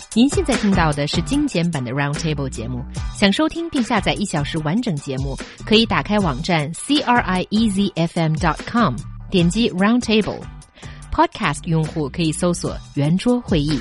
您现在听到的是精简版的 Roundtable 节目。想收听并下载1小时完整节目，可以打开网站 CRIEZFM.com， 点击 Roundtable。Podcast 用户可以搜索圆桌会议。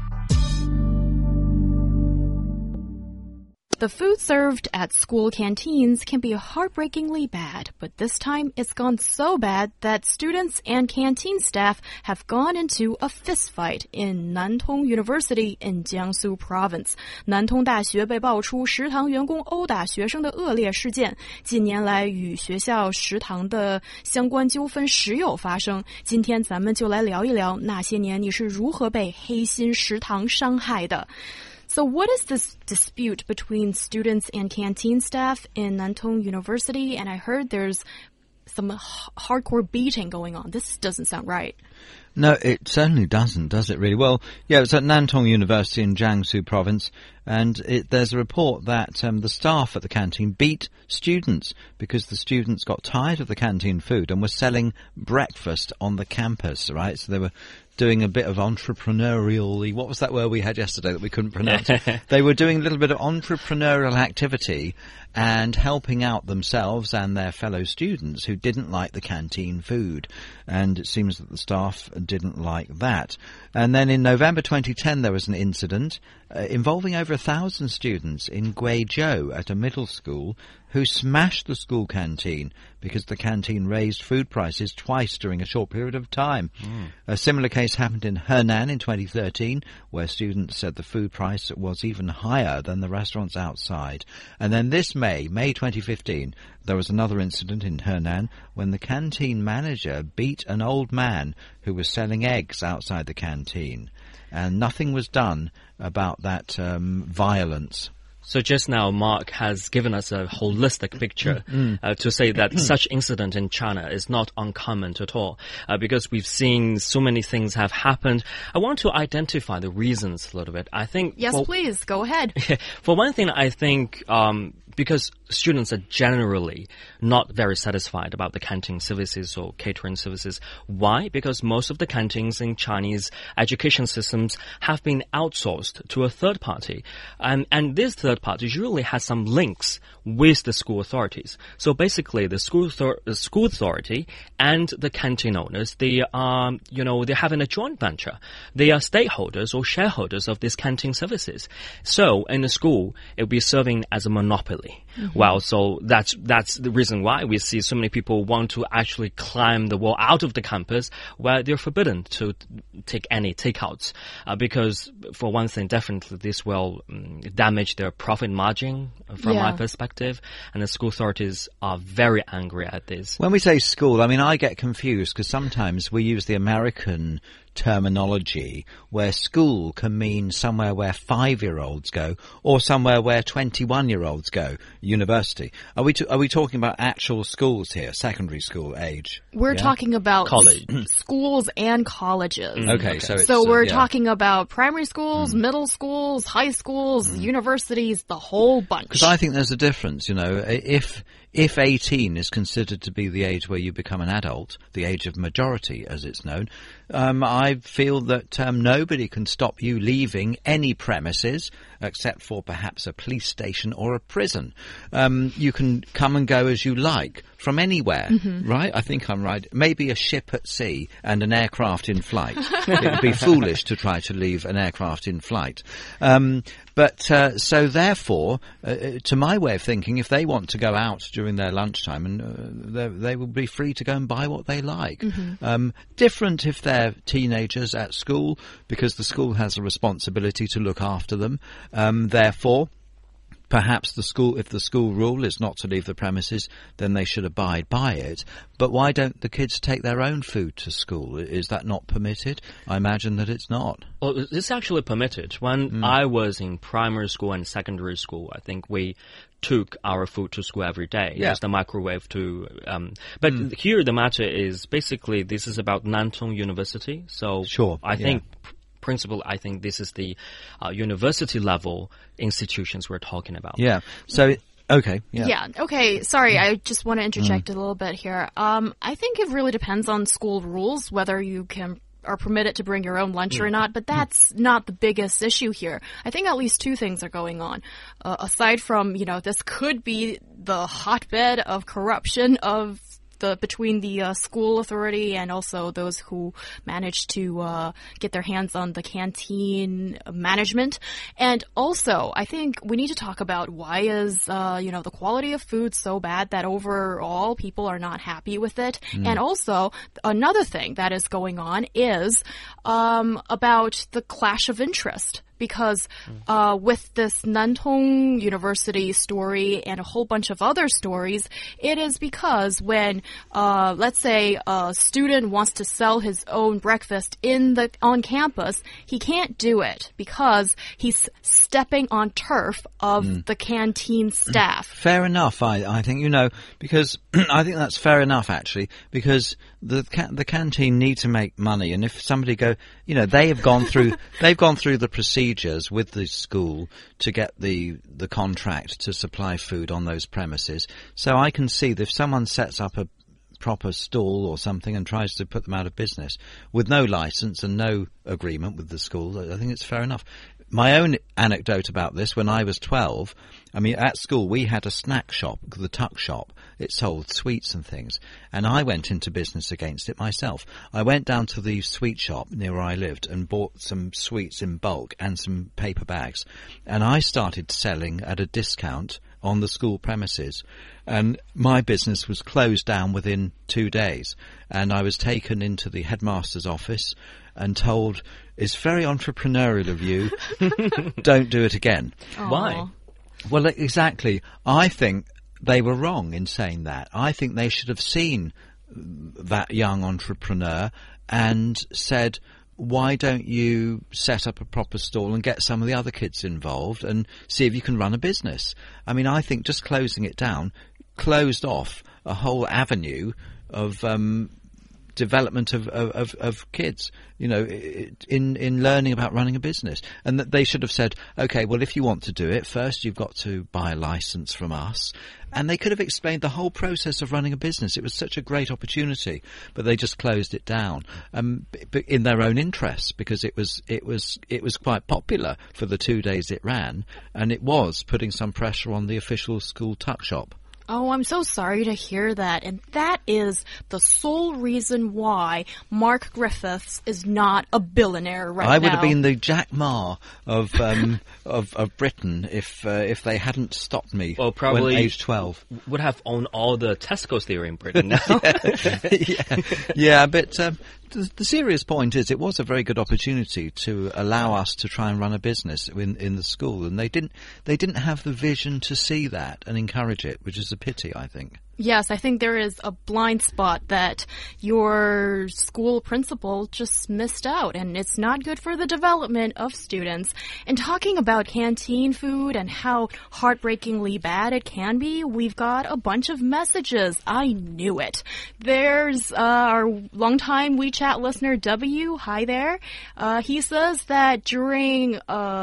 The food served at school canteens can be heartbreakingly bad, but this time it's gone so bad that students and canteen staff have gone into a fistfight in Nantong University in Jiangsu Province. 南通大学被爆出食堂员工殴打学生的恶劣事件，近年来与学校食堂的相关纠纷时有发生。今天咱们就来聊一聊那些年你是如何被黑心食堂伤害的。So what is this dispute between students and canteen staff in Nantong University? And I heard there's some hardcore beating going on. This doesn't sound right. No, it certainly doesn't, does it really? Well, yeah, it's at Nantong University in Jiangsu Province, and there's a report that the staff at the canteen beat students because the students got tired of the canteen food and were selling breakfast on the campus, right? So they were doing a bit of entrepreneurial, what was that word we had yesterday that we couldn't pronounce? They were doing a little bit of entrepreneurial activity and helping out themselves and their fellow students who didn't like the canteen food. And it seems that the staff didn't like that. And then in November 2010 there was an incident involving over 1,000 students in Guizhou at a middle school who smashed the school canteen because the canteen raised food prices twice during a short period of time. A similar case happened in Henan in 2013, where students said the food price was even higher than the restaurants outside. And then this May 2015, there was another incident in Henan when the canteen manager beat an old man who was selling eggs outside the canteen. And nothing was done about that violence. So just now, Mark has given us a holistic picture to say that such incident in China is not uncommon at all, because we've seen so many things have happened. I want to identify the reasons a little bit. I think... Yes, please, go ahead. For one thing, I think... because students are generally not very satisfied about the canteen services or catering services. Why? Because most of the canteens in Chinese education systems have been outsourced to a third party. And this third party usually has some links with the school authorities. So basically, the school authority and the canteen owners, they are, they're having a joint venture. They are stakeholders or shareholders of these canteen services. So in the school, it will be serving as a monopoly. Well, so that's the reason why we see so many people want to actually climb the wall out of the campus where they're forbidden to take any takeouts. Because for one thing, definitely this will damage their profit margin from my perspective. And the school authorities are very angry at this. When we say school, I get confused because sometimes we use the American terminology where school can mean somewhere where 5-year-olds go or somewhere where 21-year-olds go, university. Are we talking about actual schools here, secondary school age? We're talking about college schools and colleges. Okay. So we're talking about primary schools, middle schools, high schools, universities, the whole bunch. Because I think there's a difference, if 18 is considered to be the age where you become an adult, the age of majority as it's known, I feel that nobody can stop you leaving any premises except for perhaps a police station or a prison. You can come and go as you like from anywhere, right? I think I'm right. Maybe a ship at sea and an aircraft in flight. It would be foolish to try to leave an aircraft in flight. So therefore, to my way of thinking, if they want to go out during their lunchtime, and they will be free to go and buy what they like. Different if they're teenagers at school, because the school has a responsibility to look after them. Therefore, perhaps if the school rule is not to leave the premises, then they should abide by it. But why don't the kids take their own food to school? Is that not permitted? I imagine that it's not. Well, it's actually permitted. When I was in primary school and secondary school, I think we took our food to school every day. Yeah. Use the microwave to... but here the matter is basically this is about Nantong University. So sure, I think... principle, I think this is the university level institutions we're talking about. Yeah. So, okay. Yeah. Okay. Sorry, I just want to interject a little bit here. I think it really depends on school rules, whether you can are permitted to bring your own lunch or not, but that's not the biggest issue here. I think at least two things are going on. Aside from, this could be the hotbed of corruption between the school authority and also those who manage to get their hands on the canteen management. And also, I think we need to talk about why is the quality of food so bad that overall people are not happy with it. And also, another thing that is going on is about the clash of interest. Because with this Nantong University story and a whole bunch of other stories, it is because when, let's say, a student wants to sell his own breakfast on campus, he can't do it because he's stepping on turf of the canteen staff. Fair enough, I think, because I think that's fair enough, actually, because the canteen need to make money, and if somebody they've gone through the procedures with the school to get the contract to supply food on those premises. So I can see that if someone sets up a proper stall or something and tries to put them out of business with no license and no agreement with the school, I think it's fair enough. My own anecdote about this, when I was 12, at school we had a snack shop, the Tuck Shop. It sold sweets and things, and I went into business against it myself. I went down to the sweet shop near where I lived and bought some sweets in bulk and some paper bags, and I started selling at a discount on the school premises, and my business was closed down within 2 days, and I was taken into the headmaster's office and told, it's very entrepreneurial of you, don't do it again. Aww. Why? Well, exactly. I think they were wrong in saying that. I think they should have seen that young entrepreneur and said, why don't you set up a proper stall and get some of the other kids involved and see if you can run a business? I think just closing it down closed off a whole avenue of development of kids, in learning about running a business. And that they should have said, okay, well, if you want to do it, first you've got to buy a license from us. And they could have explained the whole process of running a business. It was such a great opportunity, but they just closed it down, in their own interests, because it was quite popular for the 2 days it ran, and it was putting some pressure on the official school tuck shop. Oh, I'm so sorry to hear that. And that is the sole reason why Mark Griffiths is not a billionaire right now. I would have been the Jack Ma of Britain if they hadn't stopped me probably when age 12. Would have owned all the Tesco's there in Britain now. Yeah, but the serious point is it was a very good opportunity to allow us to try and run a business in the school, and they didn't have the vision to see that and encourage it, which is a pity, I think. Yes, I think there is a blind spot that your school principal just missed out, and it's not good for the development of students. And talking about canteen food and how heartbreakingly bad it can be, we've got a bunch of messages. I knew it. There's our longtime WeChat listener, W. Hi there. He says that during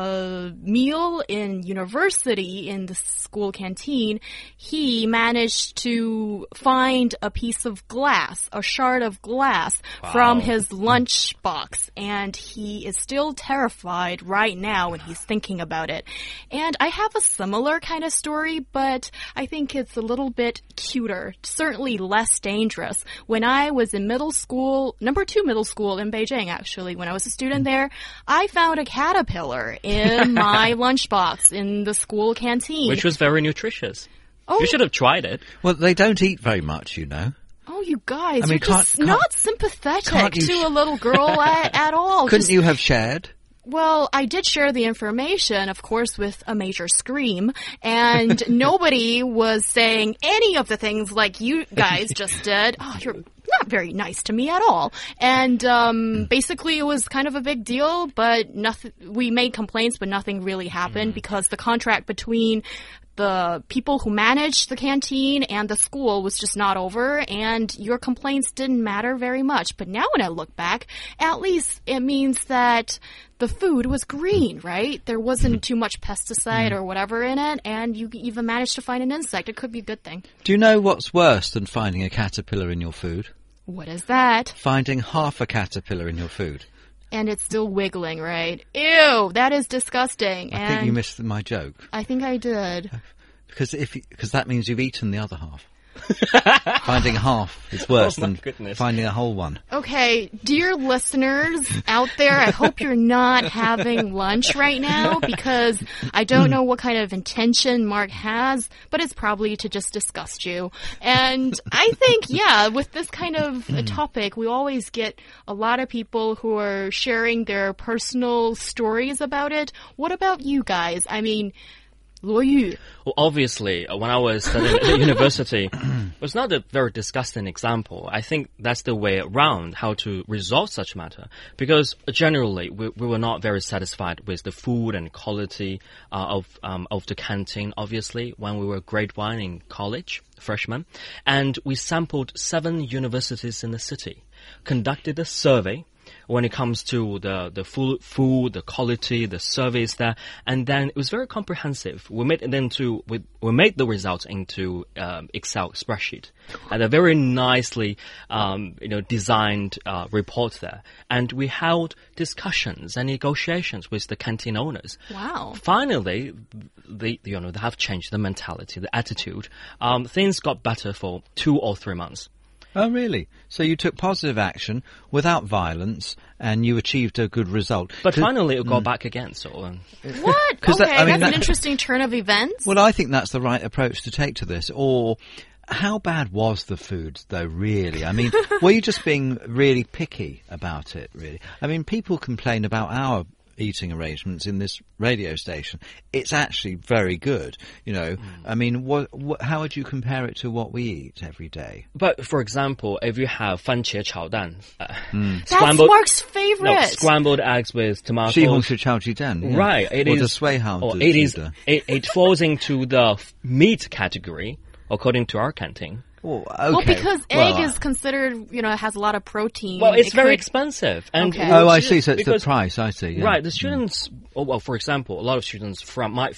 a meal in university in the school canteen, he managed to find a piece of glass, a shard of glass from his lunch box, and he is still terrified right now when he's thinking about it. And I have a similar kind of story, but I think it's a little bit cuter, certainly less dangerous. When I was in middle school, number 2 middle school in Beijing, actually, when I was a student there, I found a caterpillar in my lunchbox in the school canteen. Which was very nutritious. Oh. You should have tried it. Well, they don't eat very much, Oh, you guys, you're just not sympathetic to a little girl at all. Couldn't you have shared? Well, I did share the information, of course, with a major scream, and nobody was saying any of the things like you guys just did. Oh, you're not very nice to me at all. And basically, it was kind of a big deal, but nothing. We made complaints, but nothing really happened because the contract between the people who managed the canteen and the school was just not over, and your complaints didn't matter very much. But now when I look back, at least it means that the food was green, right? There wasn't too much pesticide or whatever in it, and you even managed to find an insect. It could be a good thing. Do you know what's worse than finding a caterpillar in your food? What is that? Finding half a caterpillar in your food. And it's still wiggling, right? Ew, that is disgusting. I think you missed my joke. I think I did. Because that means you've eaten the other half. Finding half is worse than finding a whole one. Okay, dear listeners out there, I hope you're not having lunch right now because I don't know what kind of intention Mark has, but it's probably to just disgust you. And I think, yeah, with this kind of a topic, we always get a lot of people who are sharing their personal stories about it. What about you guys? I mean, Luo Yu. Well, obviously, when I was studying at the university, it was not a very disgusting example. I think that's the way around how to resolve such matter. Because generally, we were not very satisfied with the food and quality of the canteen, obviously, when we were grade 1 in college, freshmen. And we sampled 7 universities in the city, conducted a survey when it comes to the food, the quality, the service there, and then it was very comprehensive. We made the results into Excel spreadsheet, and a very nicely designed report there. And we held discussions and negotiations with the canteen owners. Wow! Finally, they have changed the mentality, the attitude. Things got better for 2 or 3 months. Oh, really? So you took positive action without violence, and you achieved a good result. But finally, it got back again. So what? Okay, that's an interesting turn of events. Well, I think that's the right approach to take to this. Or how bad was the food, though, really? I mean, were you just being really picky about it, really? I mean, people complain about our eating arrangements in this radio station. It's actually very good, I mean, how would you compare it to what we eat every day? But for example, if you have 番茄炒蛋, that's Mark's favorite. No, scrambled eggs with tomatoes. 西红柿炒鸡蛋, yeah. Right, it falls into the meat category according to our canteen. Oh, okay. Well, because egg is considered, has a lot of protein. Well, it's very expensive. And okay. Oh, I see. So it's the price. I see. Yeah. Right. The students. Well, for example, a lot of students might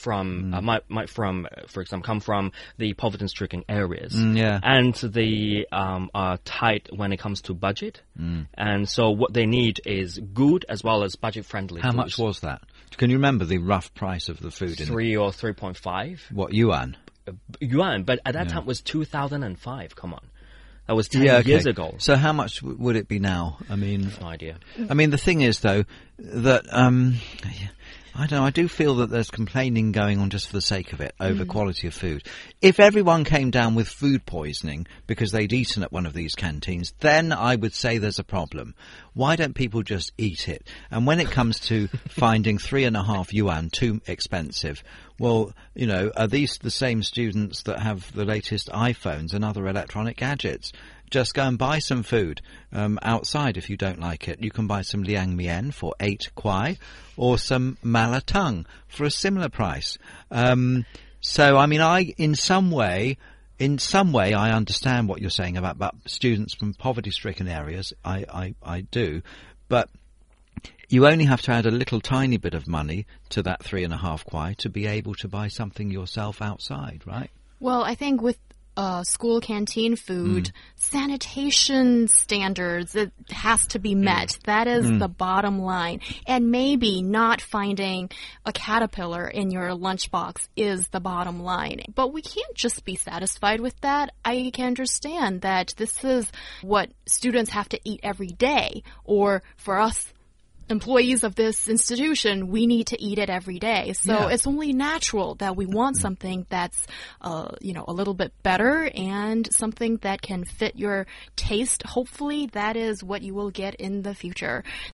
for example, come from the poverty-stricken areas. Yeah. And they are tight when it comes to budget. And so what they need is good as well as budget-friendly. How much was that? Can you remember the rough price of the food? 3 or 3.5. What, yuan? Yuan, but at that time it was 2005. Come on, that was 10 years ago. So how much would it be now? I mean, no idea. I mean, the thing is, though, that I don't know. I do feel that there's complaining going on just for the sake of it over quality of food. If everyone came down with food poisoning because they'd eaten at one of these canteens, then I would say there's a problem. Why don't people just eat it? And when it comes to finding 3.5 yuan too expensive, well, are these the same students that have the latest iPhones and other electronic gadgets? Just go and buy some food outside if you don't like it. You can buy some liang mian for 8 kwai or some mala tongue for a similar price. So, I mean, in some way, I understand what you're saying about students from poverty-stricken areas. I do. But you only have to add a little tiny bit of money to that 3.5 kwai to be able to buy something yourself outside, right? Well, I think with school canteen food, sanitation standards, it has to be met. That is the bottom line. And maybe not finding a caterpillar in your lunchbox is the bottom line. But we can't just be satisfied with that. I can understand that this is what students have to eat every day. Or for us, employees of this institution, we need to eat it every day. So it's only natural that we want something that's, a little bit better and something that can fit your taste. Hopefully that is what you will get in the future.